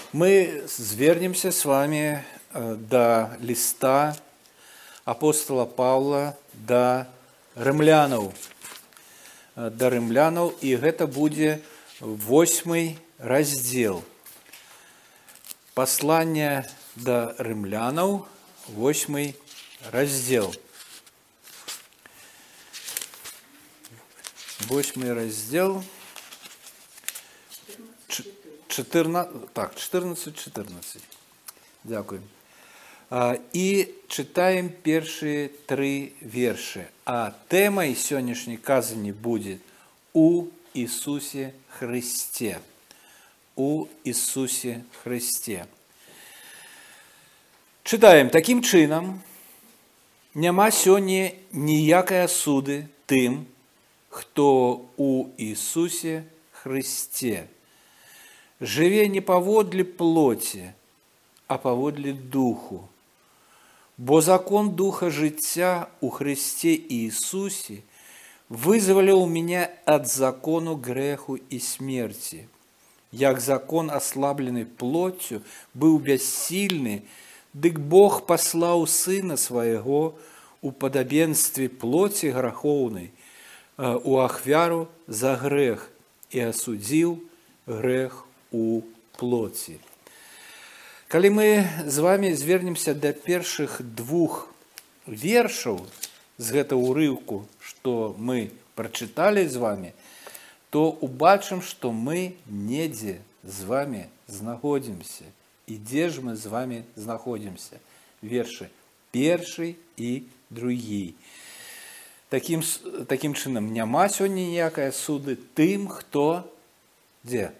Мы звернемся с вами до листа апостола Павла да рымлянаў. І гэта будзе 8 раздзел. Пасланне да рымлянаў, 8 раздзел. 8 раздзел. 14. Дякую. І читаем першие 3 верши. А темой сённяшняй казани будет «У Иисусе Христе». «У Иисусе Христе». Читаем. Таким чином, няма сёння ніякай асуды тым, хто у Иисусе Христе. Живе не паводле плоти, а паводле духу. Бо закон духа жыцця у Христе Иисусе вызволил меня от закону греху и смерти. Як закон, ослабленный плотью, был бессильный, дык Бог послал Сына Своего у подобенстве плоти греховной, у ахвяру за грех, и осудил грех у плоти. Калі мы з вами звернемся до першых 2 вершаў з гэтага ўрыўку, што мы прачыталі з вами, то убачым, што мы недзе з вами знаходзімся. І дзе ж мы з вами знаходзімся? Вершы 1 і 2. Таким чынам, няма сёння ніякай суды тым, хто дзе?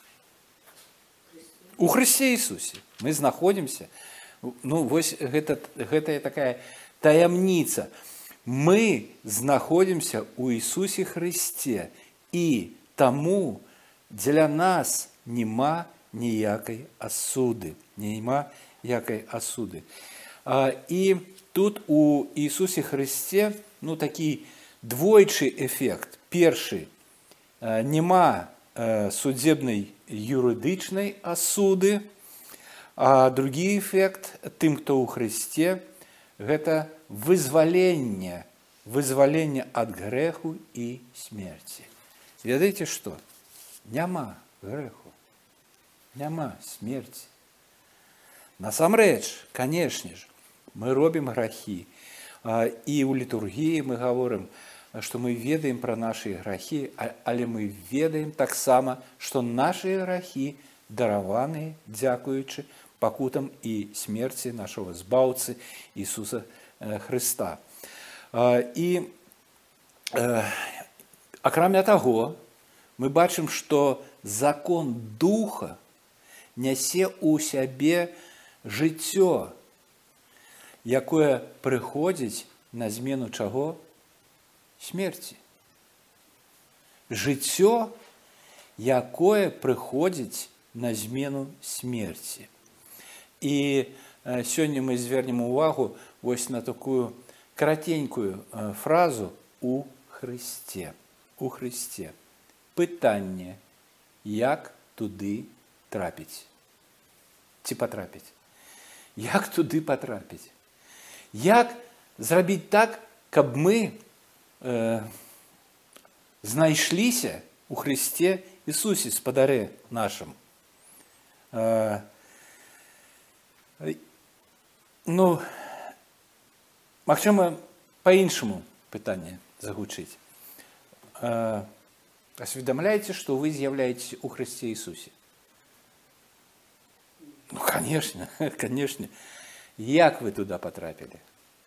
У Христе Иисусе. Мы знаходимся. Вось гэта такая таямніца. Мы знаходимся у Иисусе Христе. И тому для нас нема ніякай асуды. Нема ніякай асуды. И тут у Иисусе Христе такі двойчы эффект. Першы, нема судебной юридичной осуды, а другі эффект тым, хто ў Христе, гэта вызваленне ад грэху і смерці. Ведаеце што? Няма грэху, няма смерці. Насамрэч, канешне ж, мы робім грахі, і ў літургіі мы гаворым, што мы ведаем пра нашы грахі, але мы ведаем таксама, што нашы грахі дараваны дзякуючы пакутам і смерці нашага збаўцы Ісуса Хрыста. І акрамя таго, мы бачым, што закон духа нясе ў сябе жыццё, якое прыходзіць на змену чаго? Смерці. Жыццё, якое прыходзіць на змену смерці. І сёння мы звернем увагу вось на такую каратенькую фразу «у Христе». У Христе. Пытанне, як туды трапіць? Ці патрапіць? Як туды патрапіць? Як зрабіць так, каб мы знайшліся у Христе Ісусе, спадарэ нашым? Магчыма, па-іншаму пытанне загучыць. Асведамляеце, што вы з'яўляецеся у Христе Ісусе? Конечно. Як вы туда патрапілі?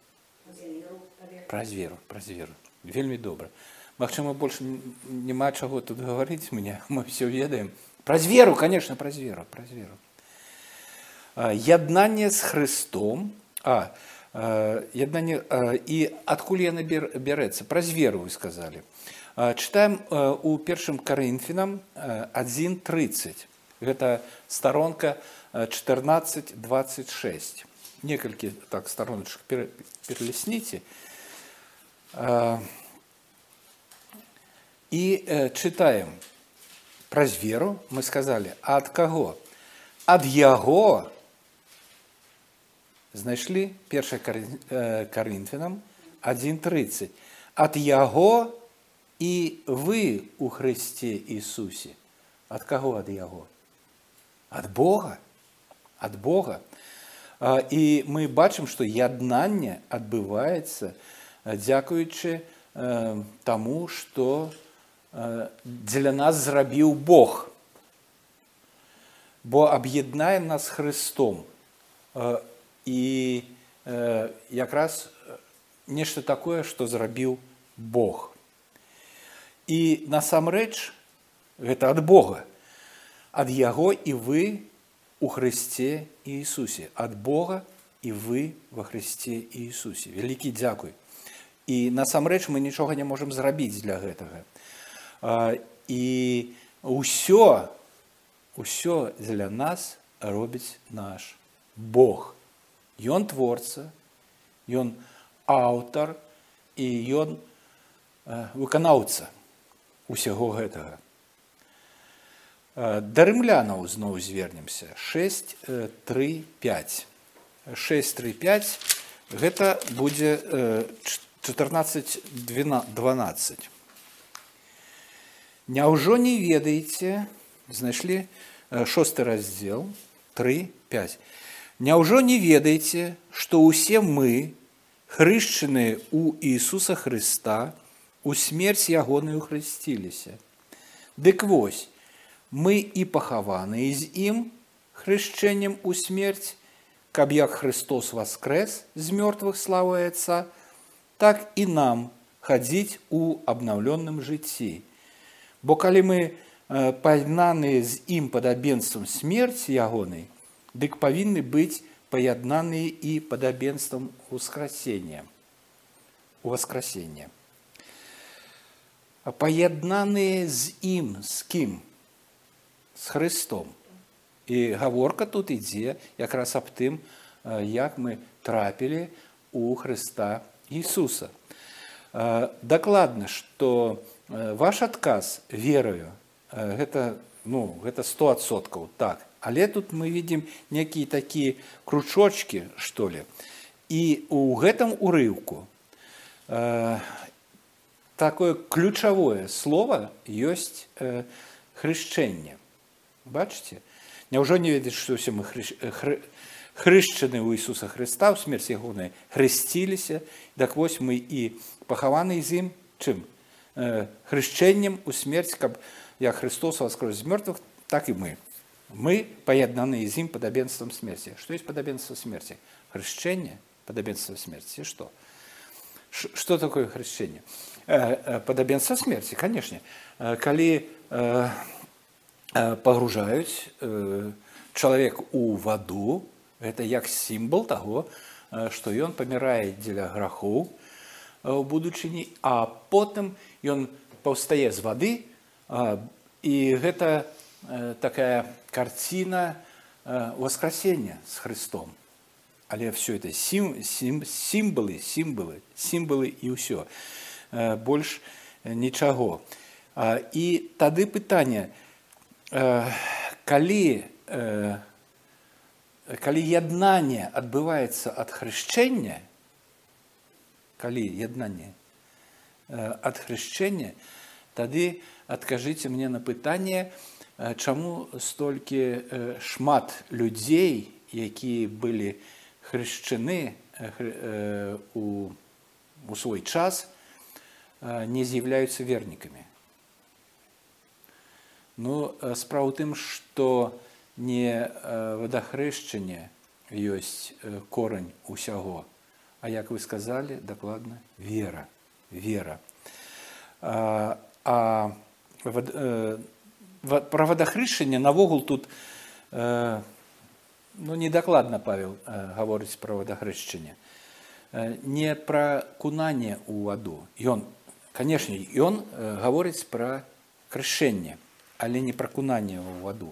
Праз веру. Вельмі добра. Магчыма, больше няма чаго тут гаварыць, мы все ведаем. Праз веру, конечно, праз веру. Яднанне з Христом, яднанне, і адкуль яно бярэцца? Праз веру, вы сказали. Читаем у 1 Коринфянам 1:30. Гэта сторонка 14:26. Некалькі стороночек перелесните. И читаем. Праз веру мы сказали, а от кого? ад яго, знайшлі 1 Каринфянам 1:30, ад яго і вы у Христе Ісусі. Ад каго ад яго? Ад Бога. Ад Бога. І мы бачым, што яднанне адбываецца дзякуючы таму, што дзеля нас зрабіў Бог. Бо аб'яднае нас з Христом. І якраз нешта такое, што зрабіў Бог. І насамрэч гэта ад Бога. Ад яго і вы у Христе Иисусе. От Бога и вы во Христе Иисусе. Великий дзякуй. И насамрэч мы нічога не можем зрабіць для гэтага. И ўсё для нас робіць наш Бог. Ён творца, ён аўтар і ён выканаўца усяго гэтага. Да рымлянаў зноў звернемся. 6:3-5. 6:3-5 гэта будзе 14:12. Няўжо не ведаеце, знайшлі 6 раздзел 3:5. Няўжо не ведаеце, што ўсе мы, хрышчаныя ў Ісуса Хрыста, у смерць ягоную хрысціліся. Дык вось, мы і пахаваныя з ім хрышчэннем у смерць, каб як Христос воскрес з мёртвых славою Отца, так і нам хадзіць у абнаўлённым жыцці. Бо калі мы паяднаныя з ім падабенствам смерці ягонай, дык павінны быць паяднаныя і падабенствам воскресення. Паяднаныя з ім, з кім? З Христом. І гаворка тут ідзе якраз аб тым, як мы трапілі у Христа Ісуса. Дакладна, што ваш адказ верою, гэта 100%, так. Але тут мы видим некие такие кружочки, что ли. И у гэтым урыўку такое ключевое слово есть хрышчэнне. Бачите? Няўжо не ведаеце, што ўсе мы хрышчаны ў Ісуса Христа, ў смерць ягонай хрысціліся, так вось мы і пахаваны з ім чым? Хрышчэннем у смерць, каб як Христос воскрес з мёртвых, так і мы. Мы паяднаны з ім падабенствам смерці. Што ёсць падабенство смерці? Хрышчэнне, падабенство смерці. Што? Што такое хрышчэнне? Падабенство смерці, канешне. Калі пагружаюць чалавек у ваду, гэта як сімвал таго, што ён памірае дзеля грахоў у будучыні, а потым ён паўстае з вады, і гэта такая карціна воскресення з Христом. Але все это сімвалы і ўсё. Больш нічаго. І тады пытанне, калі яднанне адбываецца ад хрышчэння, тады адкажыце мне на пытанне, чаму столькі шмат людзей, якія былі хрышчаны у свой час, не з'яўляюцца вернікамі. Ну, справа ў тым, што не вадахрышчанне ёсць корань усяго, а як вы сказалі, дакладна, вера. Пра вадахрышчанне навогул тут недакладна Павел гаворыць пра вадахрышчанне. Не пра кунанне ў ваду. Канешне, ён гаворыць пра крышэнне, але не пра кунанне ў ваду.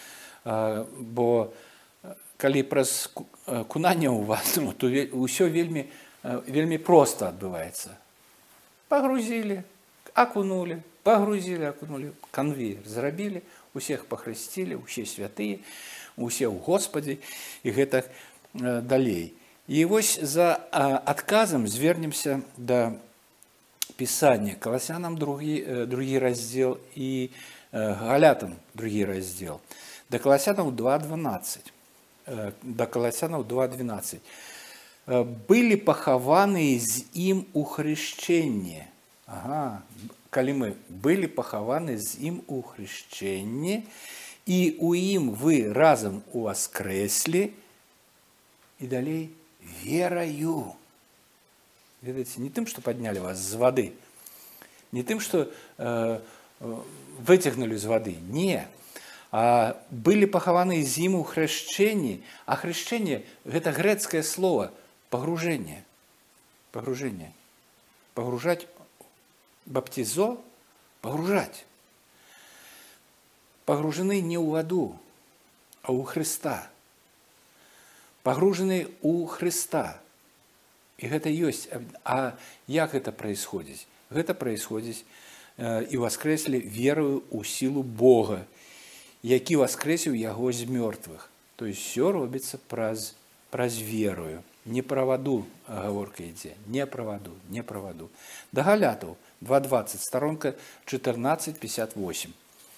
Бо калі праз кунанне ў ваду, то ўсё вельмі проста адбываецца. Пагрузілі, акунулі, пагрузілі, акунулі, канвеер зрабілі, усіх пахрысцілі, усе святыя, усе ў Господе і гэтак далей. І вось за адказам звернемся да Пісання. Каласянам другі раздзел і Галятам другі раздзел. Да Каласянаў 2:12. Да Каласянаў 2:12. Былі пахаваныя з ім у хрышчэнні. Ага, калі мы былі пахаваны з ім у хрышчэнні, і у ім вы разам уваскрэслі, і далей вераю. Ведаеце, не тым, што паднялі вас з вады, не тым, што выцягнулі з вады, не. А былі пахаваны з ім у хрышчэнні, а хрышчэнне – гэта грэцкае слово пагружэнне. Пагружэнне. Пагружаць, баптизо – пагружаць. Пагружаны не ў ваду, а ў Хрыста. Пагружаны ў Хрыста. І гэта ёсць. А як гэта праисходзіць? Гэта праисходзіць і воскрэслі верою ў сілу Бога, які воскрэсіў яго з мёртвых. То есть все робіцца праз верою. Не пра ваду гаворка ідзе, не пра ваду, не пра ваду. Да Галятаў 2:20, старонка 14:58.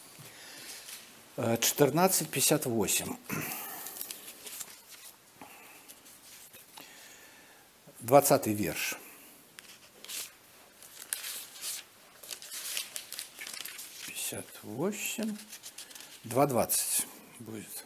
14:58. 20 верш. «58, 2:20 будет.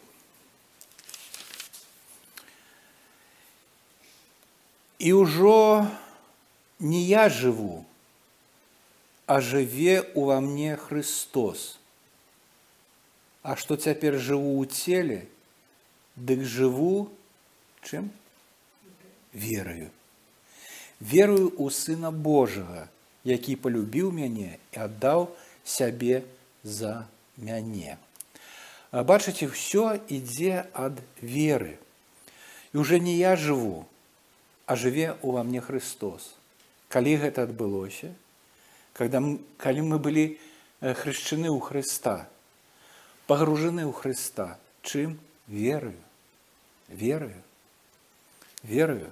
«І ўжо не я жыву, а жыве ува мне Христос. А што цяпер жыву ў целе, дык жыву чым? Верою. Верую ў Сына Божага, які полюбіў мяне і аддаў сябе за мяне». Бачыце, все ідзе ад веры. І уже не я жыву, а жыве ува мне Христос. Калі гэта адбылося? Калі мы былі хрышчаны ў Хрыста, пагружаны ў Хрыста. Чым? Верою. Верою. Верою.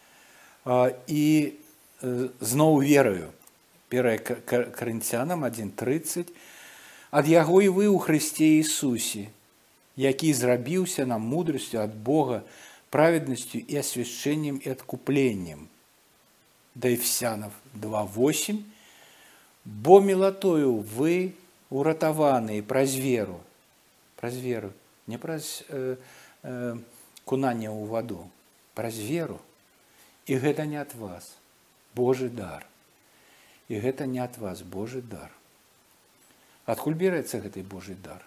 І зноў верою. 1 Карынцянам 1:30. «Ад яго і вы ў Хрысце Ісусе, які зрабіўся нам мудрасцю ад Бога, праведнасцю і асвяшчэннем і адкупленнем». Да Ефесянов 2:8. «Бо мілатою вы уратаваныя праз веру». Праз веру. Не праз кунанне ў ваду. Праз веру. І гэта не ад вас. Божы дар. І гэта не ад вас. Божы дар. Адкуль бярэцца гэты Божы дар?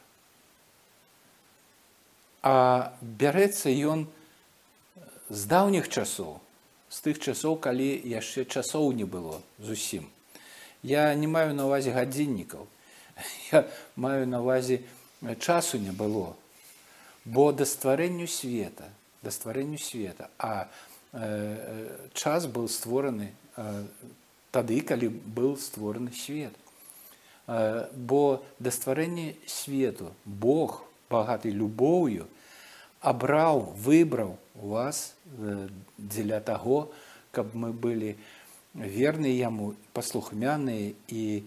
А бярэцца ён з даўніх часоў, з тых часоў, калі яшчэ часоў не было зусім. Я не маю на ўвазе гадзіннікаў, я маю на ўвазе часу не было, бо да стварэнню света, а час быў створаны тады, калі быў створаны свет. Бо да стварэння свету Бог, багаты любоўю, выбраў вас дзеля таго, каб мы былі верныя яму, паслухмяныя і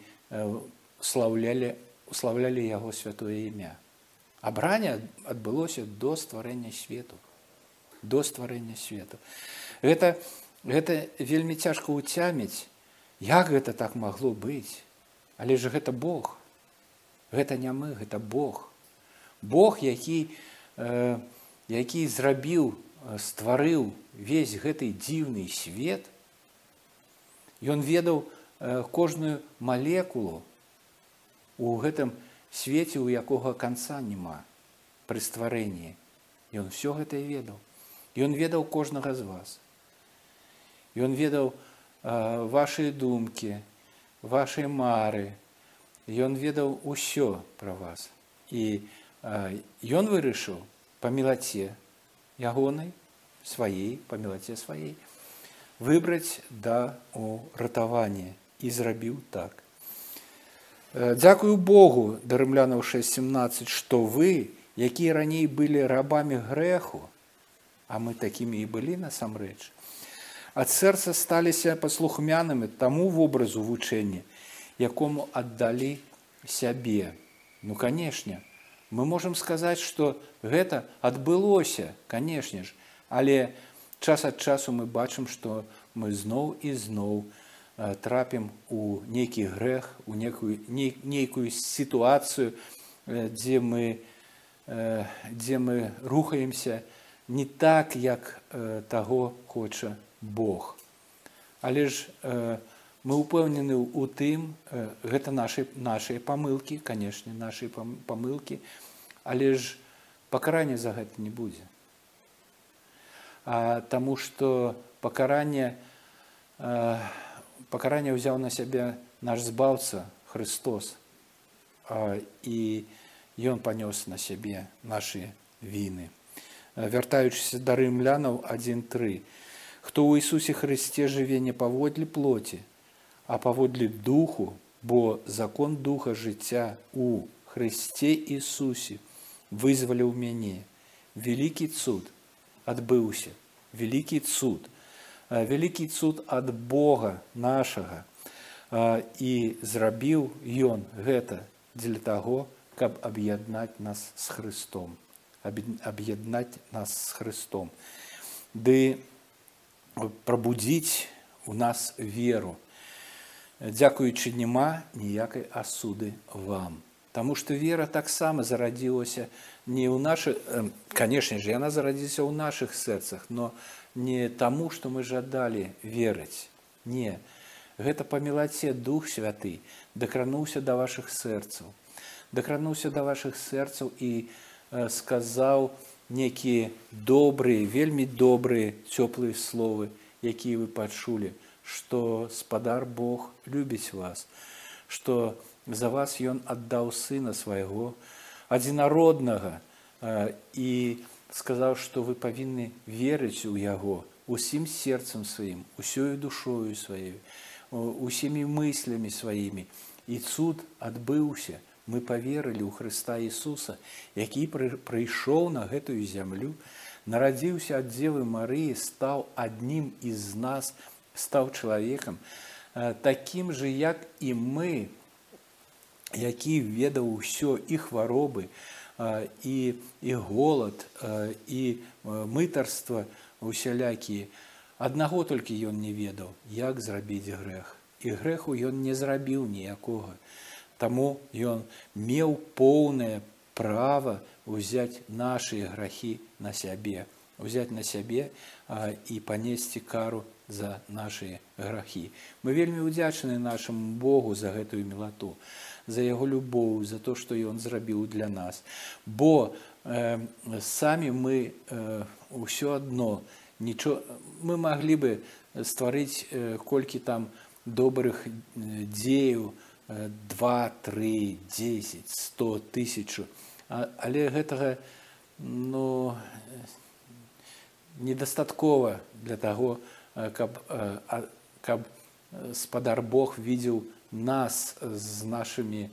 слаўлялі яго святое імя. Абранне адбылося до стварэння свету. До стварэння свету. Гэта вельмі цяжка ўцяміць, як гэта так магло быць. Але ж гэта Бог. Гэта не мы, гэта Бог. Бог, які стварыў весь гэты дзіўны свет, ён ведаў кожную малекулу у гэтым свеце, у якога канца няма пры стварэнні. Ён все гэта ведаў. Ён ведаў кожнага з вас. Ён ведаў вашыя думкі, вашыя мары. Ён ведаў усё пра вас. І ён вырашыў па мілаце ягонай, па мілаце сваей, выбраць да уратавання. І зрабіў так. Дзякую Богу, да Рымлянаў 6:17, што вы, якія раней былі рабамі грэху, а мы такімі і былі насамрэч, ад сэрца сталіся паслухмянымі таму вобразу вучэння, якому аддалі сябе. Ну, канешне, мы можам сказаць, што гэта адбылося, канешне ж, але час ад часу мы бачым, што мы зноў і зноў трапім у нейкі грэх, у нейкую сітуацыю, дзе мы рухаемся не так, як таго хоча Бог. Але ж мы ўпэўнены ў тым, гэта нашыя памылкі, канешне, нашыя памылкі, але ж пакарання за гэта не будзе. Таму што пакаранне ўзяў на сябе наш збаўца Христос, і Ён панёс на сябе нашы віны. Вяртаючыся да рымлянаў 1:3. Хто ў Ісусе Христе жыве не паводле плоці, а паводле духу, бо закон духа жыцця у Христе Ісусе вызваліў мяне. Вялікі цуд адбыўся, вялікі цуд ад Бога нашага. І зрабіў Ён гэта дзеля таго, каб аб'яднаць нас з Христом. Ды прабудзіць у нас веру. Дзякуючы няма ніякай асуды вам. Таму што вера таксама зарадзілася не ў нашых, канешне ж, яна зарадзілася ў нашых сэрцах, но не таму, што мы жадалі верыць. Не. Гэта па мілаце Дух Святы дакрануўся да вашых сэрцаў. Дакрануўся да вашых сэрцаў і сказаў нейкія добрыя, вельмі добрыя, цёплыя словы, якія вы пачулі, што Спадар Бог любіць вас, што за вас Ён аддаў Сына свайго, адзінароднага, і сказаў, што вы павінны верыць у Яго усім сэрцам сваім, усёю душою сваёй, усімі мыслямі сваімі. І цуд адбыўся. Мы паверылі ў Хрыста Ісуса, які прыйшоў на гэтую зямлю, нарадзіўся ад Дзевы Марыі, стаў аднім з нас, стаў чалавекам, такім жа, як і мы, які ведаў усё, і хваробы, і голад, і мытарства усялякія. Аднаго толькі ён не ведаў, як зрабіць грэх. І грэху ён не зрабіў ніякога. Таму ён меў поўнае права ўзяць нашы грахі на сябе, і панесці кару за нашы грахі. Мы вельмі ўдзячныя нашаму Богу за гэтую мілату, за Яго любоў, за то, што Ён зрабіў для нас. Бо самі мы ўсё адно, мы маглі бы стварыць колькі там добрых дзеяў, 2, 3, 10, 100, 1000. Але гэтага недастаткова для таго, каб Спадар Бог видзеў нас з нашымі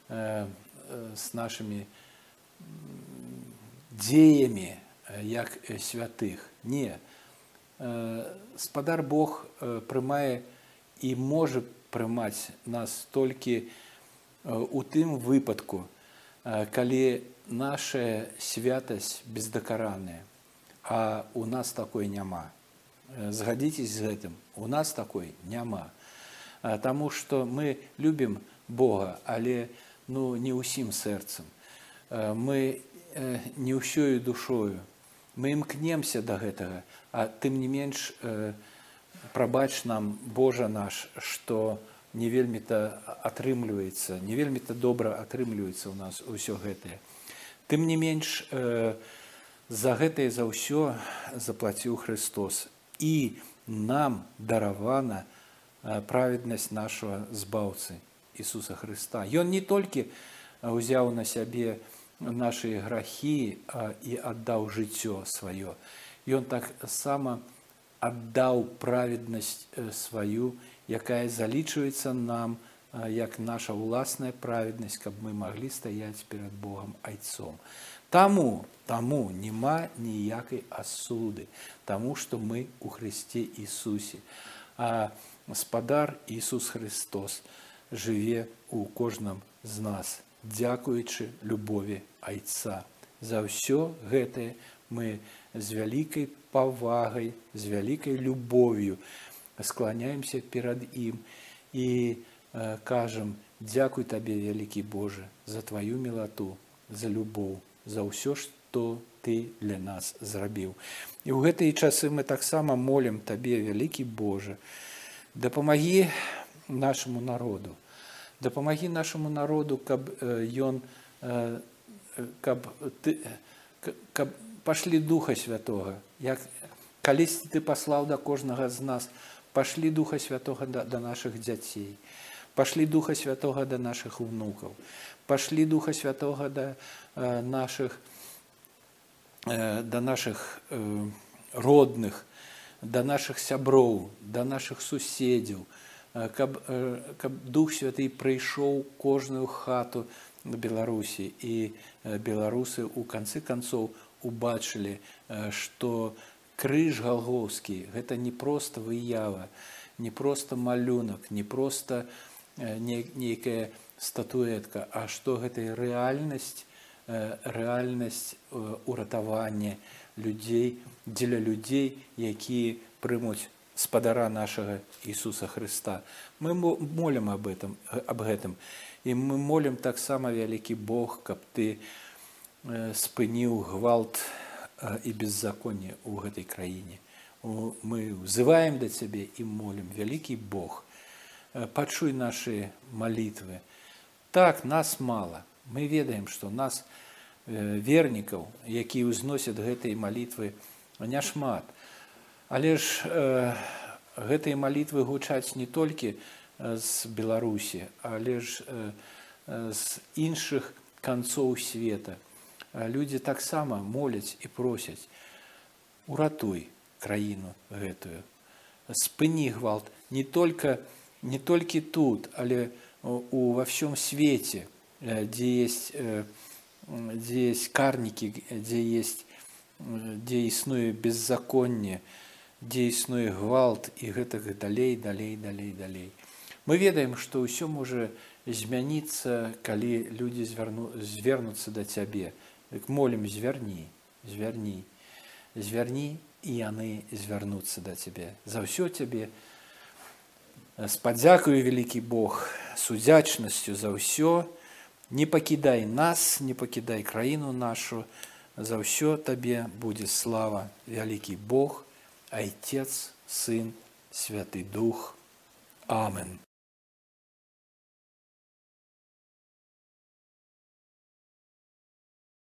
дзеямі, як святых. Не. Спадар Бог прымае і можа прымаць нас толькі у тым выпадку, калі наша святасць бездакаранная, а у нас такой няма. Згадзіцеся з гэтым, у нас такой няма. Таму што мы любім Бога, але не ўсім сэрцам. Мы не ўсёю душою. Мы імкнемся да гэтага, а тым не менш прабач нам, Божа наш, што не вельмі-то атрымліваецца, не вельмі-то добра атрымліваецца ў нас усё гэтае. Тым не менш, за гэтае за ўсё заплаціў Христос. І нам даравана праведнасць нашага збаўцы Ісуса Христа. Ён не толькі ўзяў на сябе нашы грахі і аддаў жыццё сваё. Ён таксама аддаў праведнасць сваю, якая залічваецца нам як наша ўласная праведнасць, каб мы маглі стаяць перад Богам айцом. Таму няма ніякай асуды, таму што мы у Христе Ісусе. А Гаспадар Ісус Христос жыве у кожным з нас, дзякуючы любові айца. За ўсё гэтае мы з вялікай павагай, з вялікай любов'ю скланяемся перад ім і кажам: дзякуй табе, вялікі Божа, за тваю мілату, за любоў, за ўсё, што ты для нас зрабіў. І ў гэтыя часы мы таксама молім табе, вялікі Божа, дапамагі нашаму народу. Дапамагі нашаму народу, каб пашлі Духа Святога. Як калісьці ты паслаў да кожнага з нас, пашлі Духа Святога да нашых дзяцей, пашлі Духа Святога да нашых унукаў, пашлі Духа Святога да нашых родных, да нашых сяброў, да нашых суседзяў, каб Дух Святы прыйшоў кожную хату Беларусі, і беларусы ў канцы канцоў убачылі, што крыж галгофскі – гэта не проста выява, не проста малюнак, не проста нейкая статуэтка, а што гэта рэальнасць уратавання людзей, дзеля людзей, якія прымуць Спадара нашага Ісуса Хрыста. Мы молім аб гэтым. І мы молім таксама, вялікі Бог, каб ты спыніў гвалт і беззаконне ў гэтай краіне. Мы взываем да цябе і молім: вялікі Бог, пачуй нашы малітвы. Так, нас мала. Мы ведаем, што нас, вернікаў, якія ўзносяць гэтыя малітвы, няшмат. Але ж гэтыя малітвы гучаць не толькі з Беларусі, але ж з іншых канцоў света. Людзі таксама моляць і просяць: уратуй краіну гэтую, спыні гвалт не толькі тут, але во всем свете, где есть карнікі, дзе існуе беззаконне, дзе існуе гвалт і гэтак далей. Мы ведаем, што ўсё можа змяніцца, калі людзі звернуцца да цябе. Дык молім: звярні, і яны звярнуцца да цябе. За ўсё цябе спадзякую, вялікі Бог, с удзячнасцю за ўсё. Не пакідай нас, не пакідай краіну нашу. За ўсё табе будзе слава, вялікі Бог, Айцец, Сын, Святы Дух. Амен.